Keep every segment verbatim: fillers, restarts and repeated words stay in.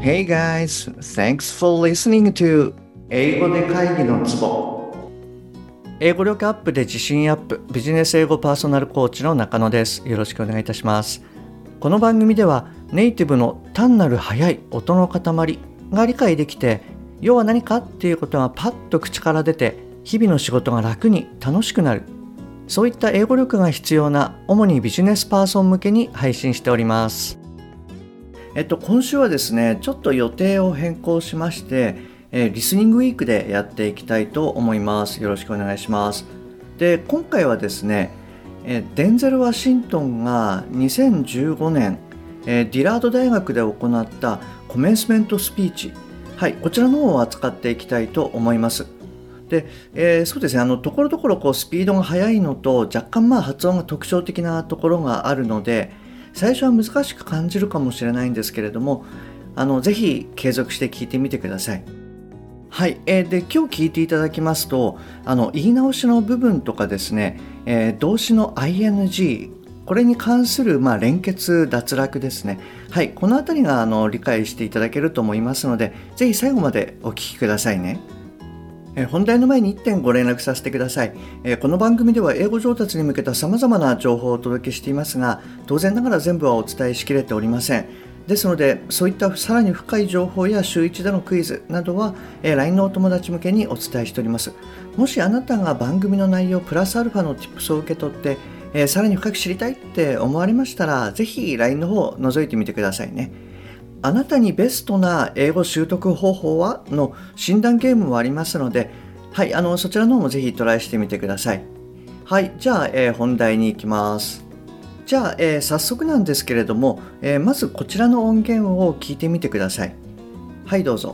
Hey guys, thanks for listening to 英語で会議のツボ。英語力アップで自信アップ、ビジネス英語パーソナルコーチの中野です。よろしくお願いいたします。この番組ではネイティブの単なる速い音の塊が理解できて、要は何かっていうことがパッと口から出て、日々の仕事が楽に楽しくなる。そういった英語力が必要な主にビジネスパーソン向けに配信しております。えっと今週はですね、ちょっと予定を変更しまして、えー、リスニングウィークでやっていきたいと思います。よろしくお願いします。で、今回はですね、えー、デンゼル・ワシントンがにせんじゅうごねん、えー、ディラード大学で行ったコメンスメントスピーチ、はい、こちらの方を扱っていきたいと思います。で、えー、そうですね、あのところどころこうスピードが速いのと若干まあ発音が特徴的なところがあるので、最初は難しく感じるかもしれないんですけれども、あのぜひ継続して聞いてみてください。はい、えー、で今日聞いていただきますと、あの言い直しの部分とかですね、えー、動詞の アイエヌジー、 これに関する、まあ、連結脱落ですね。はい、このあたりがあの理解していただけると思いますので、ぜひ最後までお聞きくださいね。えー、本題の前にいってんご連絡させてください。えー、この番組では英語上達に向けた様々な情報をお届けしていますが、当然ながら全部はお伝えしきれておりません。ですので、そういったさらに深い情報や週いちでのクイズなどは、えー、ライン のお友達向けにお伝えしております。もしあなたが番組の内容プラスアルファの Tips を受け取って、えー、さらに深く知りたいって思われましたら、ぜひ ライン の方を覗いてみてくださいね。あなたにベストな英語習得方法はの診断ゲームもありますので、はい、あのそちらの方もぜひトライしてみてください。はい、じゃあ、えー、本題に行きます。じゃあ、えー、早速なんですけれども、えー、まずこちらの音源を聞いてみてください。はい、どうぞ。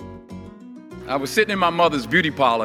I was sitting in my mother's beauty parlor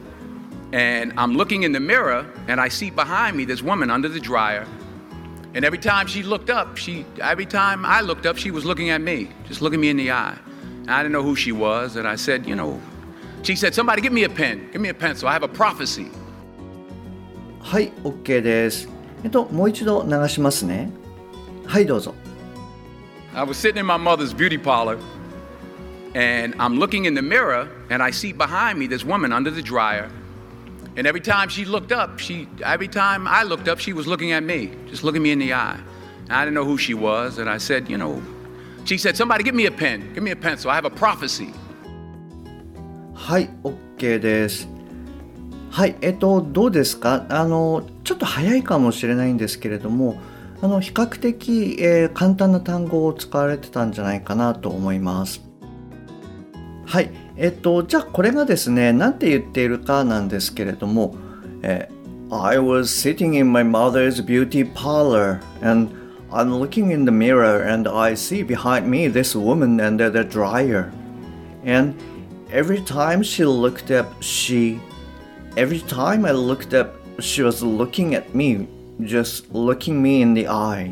and I'm looking in the mirror and I see behind me this woman under the dryer, and every time she looked up, she every time I looked up, she was looking at me, just looking me in the eye. And I didn't know who she was, and I said, you know, she said, somebody give me a pen, give me a pencil, I have a prophecy. はい、OK です。えっと、もう一度流しますね。はい、どうぞ。 I was sitting in my mother's beauty parlor and I'm looking in the mirror and I see behind me this woman under the dryer, and every time she looked up, she every time I looked up, she was looking at me, just looking me in the eye. And I didn't know who she was, and I said, you know, she said, somebody give me a pen, give me a pencil, I have a prophecy. はい、OK です。はい、えっと、どうですか？あの、ちょっと早いかもしれないんですけれども、あの比較的、えー、簡単な単語を使われてたんじゃないかなと思います。はい、えっと、じゃあこれがですね、なんて言っているかなんですけれども、えー、I was sitting in my mother's beauty parlor and I'm looking in the mirror and I see behind me this woman under the dryer. And every time she looked up, she Every time I looked up, she was looking at me, just looking me in the eye.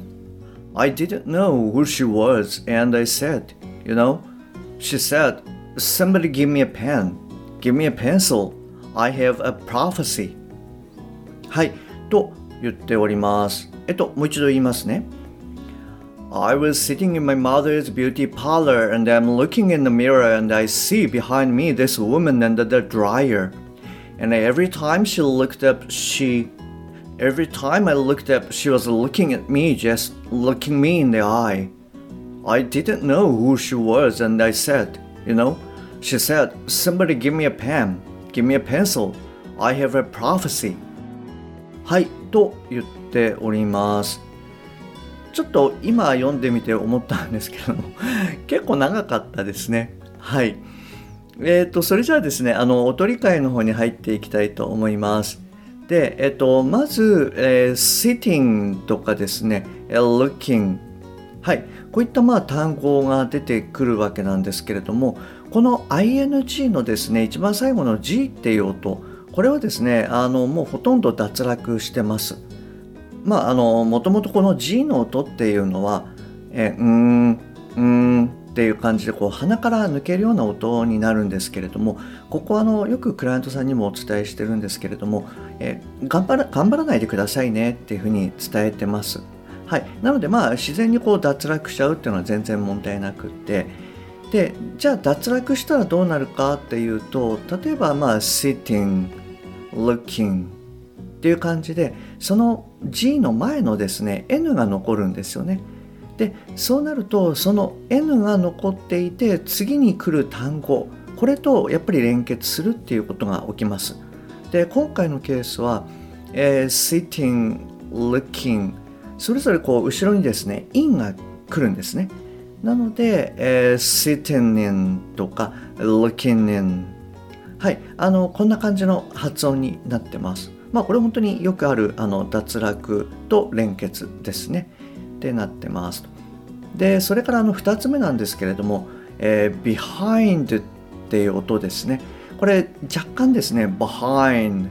I didn't know who she was, and I said, you know, she said, somebody give me a pen, give me a pencil, I have a prophecy. はい、と言っております。えっと、もう一度言いますね。I was sitting in my mother's beauty parlor, and I'm looking in the mirror, and I see behind me this woman under the dryer.And every time she looked up, she, every time I looked up, she was looking at me, just looking me in the eye. I didn't know who she was, and I said, you know, she said, somebody give me a pen, give me a pencil, I have a prophecy. はい、と言っております。ちょっと今読んでみて思ったんですけども、結構長かったですね。はい。えーと、それじゃあですね、あの音理解の方に入っていきたいと思います。で、えーと、まず、えー、sitting とかですね、looking、はい、こういったまあ単語が出てくるわけなんですけれども、この アイエヌジー のですね、一番最後の G っていう音、これはですね、あのもうほとんど脱落してます。まあ、あのもともとこの G の音っていうのは、えー、うーん、うーん、っていう感じでこう鼻から抜けるような音になるんですけれども、ここはあのよくクライアントさんにもお伝えしてるんですけれども、えー、頑張ら、頑張らないでくださいねっていうふうに伝えてます。はい、なのでまあ自然にこう脱落しちゃうっていうのは全然問題なくって、 で、じゃあ脱落したらどうなるかっていうと、例えばまあ sitting, looking っていう感じで、その G の前のですね N が残るんですよね。で、そうなるとその N が残っていて、次に来る単語、これとやっぱり連結するっていうことが起きます。で、今回のケースは、えー、sitting, looking それぞれこう後ろにですね in が来るんですね。なので、えー、sitting in とか looking in、 はい、あのこんな感じの発音になってます。まあこれ本当によくあるあの脱落と連結ですねってなってます。で、それからあのふたつめなんですけれども、えー、behind っていう音ですね。これ若干ですね behind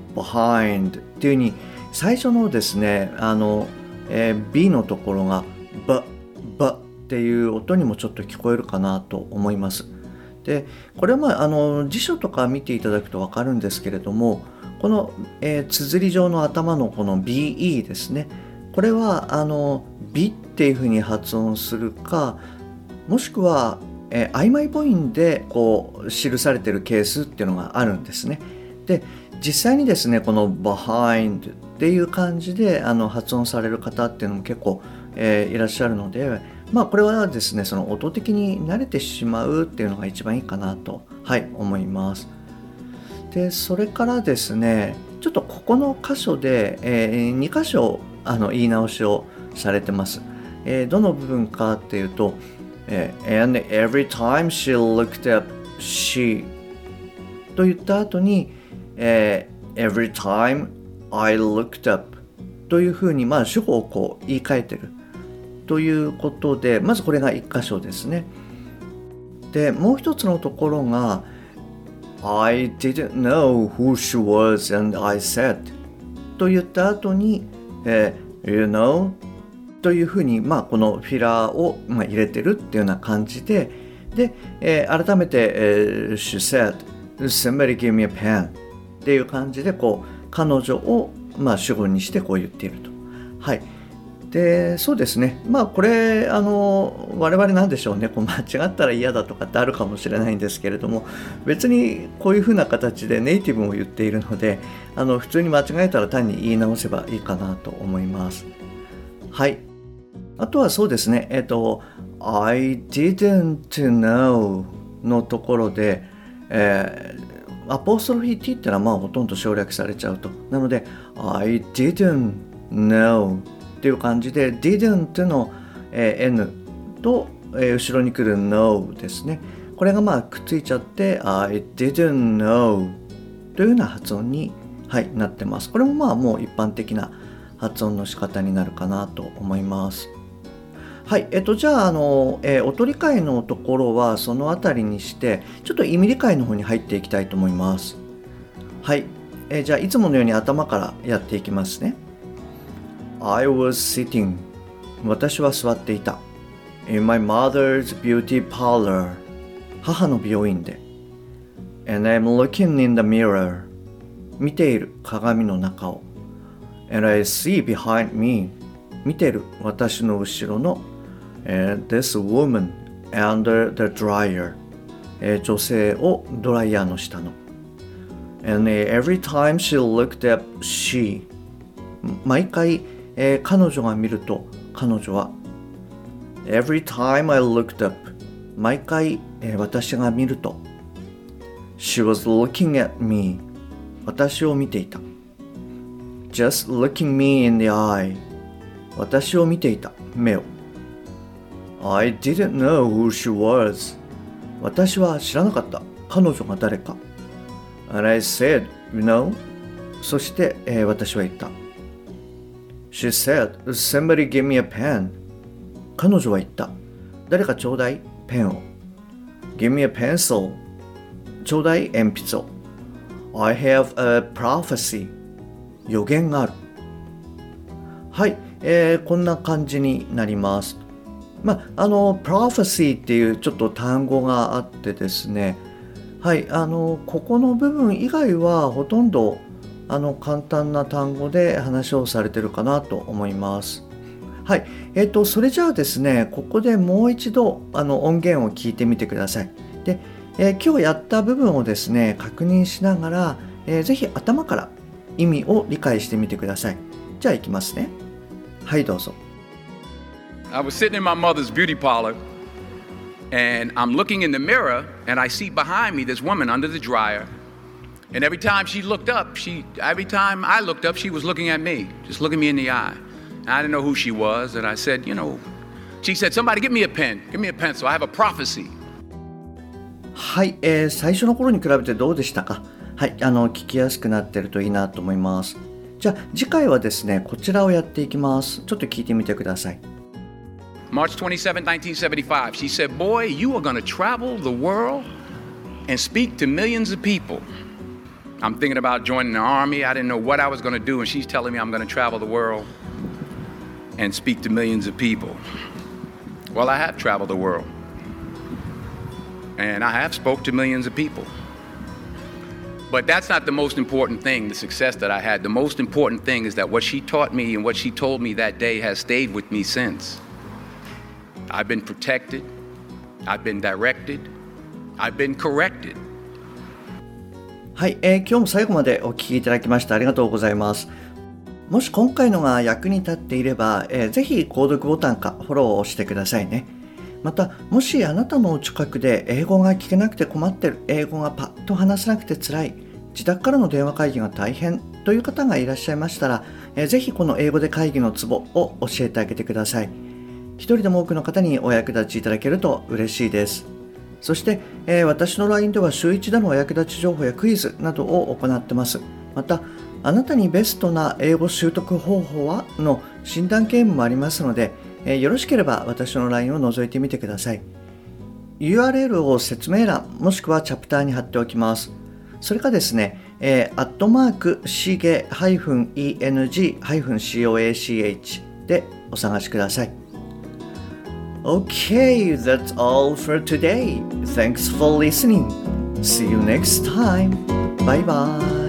behind っていう風に最初のですねあの、えー、B のところが b b っていう音にもちょっと聞こえるかなと思います。で、これは、まあ、あの辞書とか見ていただくと分かるんですけれども、この、えー、綴り状の頭のこの ビーイー ですね、これはあのビっていう風に発音するか、もしくは、えー、曖昧母音でこう記されているケースっていうのがあるんですね。で、実際にですねこの behind っていう感じであの発音される方っていうのも結構、えー、いらっしゃるので、まあこれはですねその音的に慣れてしまうっていうのが一番いいかなと、はい、思います。で、それからですねちょっとここの箇所で、えー、に箇所あの言い直しをされてます。えー、どの部分かっていうと、えー、and every time she looked up she と言った後に、えー、every time I looked up というふうに、まあ、主語をこう言い換えてるということで、まずこれがいっ箇所ですね。で、もう一つのところが I didn't know who she was and I said と言った後に、えー、you know というふうに、まあ、このフィラーを、まあ、入れてるっていうような感じで、で、えー、改めて、えー、she said somebody give me a pen っていう感じでこう彼女を、まあ、主語にしてこう言っていると。はい。で、そうですね。まあこれあの我々なんでしょうね。こう間違ったら嫌だとかってあるかもしれないんですけれども、別にこういう風な形でネイティブも言っているので、あの普通に間違えたら単に言い直せばいいかなと思います。はい。あとはそうですね。えっと I didn't know のところで、えー、アポストロフィー t ってのはまあほとんど省略されちゃうと。なので I didn't knowっていう感じで didn't の、えー、N と、えー、後ろに来る no ですね。これがまあくっついちゃって I didn't know というような発音に、はい、なってます。これもまあもう一般的な発音の仕方になるかなと思います。はい、えっとじゃああの、えー、音理解のところはそのあたりにしてちょっと意味理解の方に入っていきたいと思います。はい、えー、じゃあいつものように頭からやっていきますね。I was sitting 私は座っていた in my mother's beauty parlor 母の美容院で and I'm looking in the mirror 見ている鏡の中を and I see behind me 見ている私の後ろの、uh, this woman under the dryer、uh, 女性をドライヤーの下の and、uh, every time she looked up she 毎回えー、彼女が見ると彼女は Every time I looked up 毎回、えー、私が見ると She was looking at me 私を見ていた Just looking me in the eye 私を見ていた目を I didn't know who she was 私は知らなかった彼女が誰か And I said, you know そして、えー、私は言った。She said, somebody give me a pen. 彼女は言った。誰かちょうだいペンを。Give me a pencil. ちょうだい鉛筆を。I have a prophecy. 予言がある。はい、えー、こんな感じになります。まあ、あの、prophecy っていうちょっと単語があってですね。はい、あの、ここの部分以外はほとんどあの簡単な単語で話をされてるかなと思います。 はい、えーと、それじゃあですね、ここでもう一度あの音源を聞いてみてください。で、えー、今日やった部分をですね、確認しながら、えー、ぜひ頭から意味を理解してみてください。じゃあいきますね。はい、どうぞ。 I was sitting in my mother's beauty parlor, and I'm looking in the mirror, and I see behind me this woman under the dryer. And every time she looked up, she every time I looked up, she was looking at me, just looking me in the eye. And I didn't know who she was, and I said, you know, she said, somebody give me a pen, give me a pencil, I have a prophecy. はい、えー、最初の頃に比べてどうでしたか？はい、あの聞きやすくなってるといいなと思います。じゃあ次回はですね、こちらをやっていきます。ちょっと聞いてみてください。 March twenty-seventh, nineteen seventy-five, she said, boy, you are going to travel the world and speak to millions of people.I'm thinking about joining the army. I didn't know what I was going to do, and she's telling me I'm going to travel the world and speak to millions of people. Well, I have traveled the world, and I have spoke to millions of people. But that's not the most important thing, the success that I had. The most important thing is that what she taught me and what she told me that day has stayed with me since. I've been protected. I've been directed. I've been corrected. はい、えー、今日も最後までお聞きいただきましてありがとうございます。もし今回のが役に立っていれば、えー、ぜひ購読ボタンかフォローを押してくださいね。また、もしあなたのお近くで英語が聞けなくて困ってる、英語がパッと話せなくて辛い、自宅からの電話会議が大変という方がいらっしゃいましたら、えー、ぜひこの英語で会議のツボを教えてあげてください。一人でも多くの方にお役立ちいただけると嬉しいです。そして、えー、私の ライン では週一でのお役立ち情報やクイズなどを行ってます。また、あなたにベストな英語習得方法はの診断ゲームもありますので、えー、よろしければ私の ライン を覗いてみてください。ユーアールエル を説明欄もしくはチャプターに貼っておきます。それかですね、えー、アットマークシゲ -エヌジー コー でお探しください。Okay, that's all for today. Thanks for listening. See you next time. Bye bye.